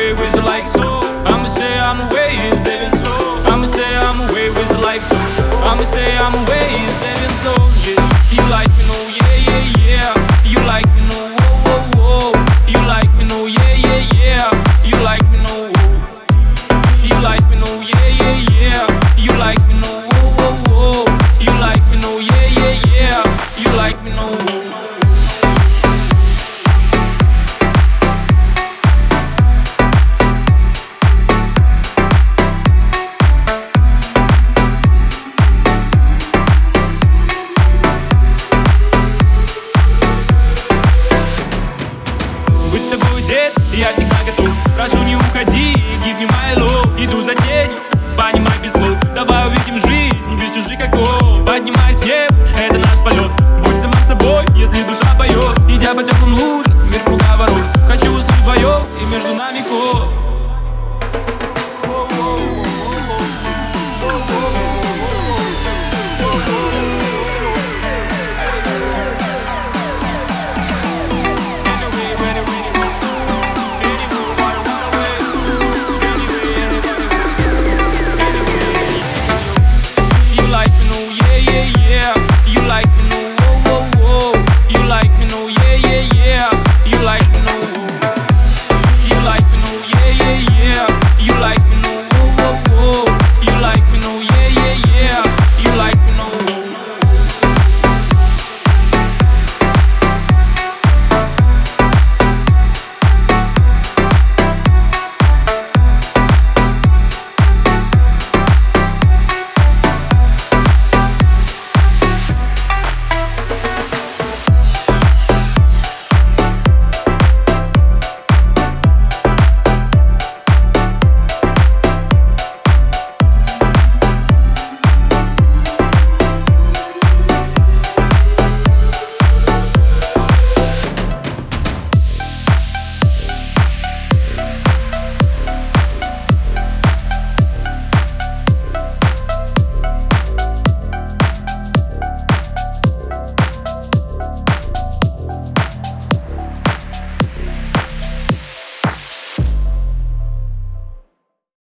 away with you like so. I'ma say I'm away, is living so. I'ma say I'm away with you like so. I'ma say I'm away, is living so. Yeah, you like me, no, yeah, yeah, yeah. You like me, no, whoa, whoa, whoa. You like me, no, yeah, yeah, yeah. You like me, no, whoa. You like me, no, yeah, yeah, yeah. You like me, no, whoa, whoa, whoa. You like me, no, yeah, yeah, yeah. You like me, no, whoa. Быть с тобой, дед, я всегда готов. Прошу, не уходи, give me my love. Иду за тенью, понимай без слов. Давай увидим жизнь без чужих оков. Поднимайся в небо, это наш полет. Будь сама собой, если душа поет. Идя по теплым лужам, мир круговорот. Хочу уснуть вдвоем, и между нами код.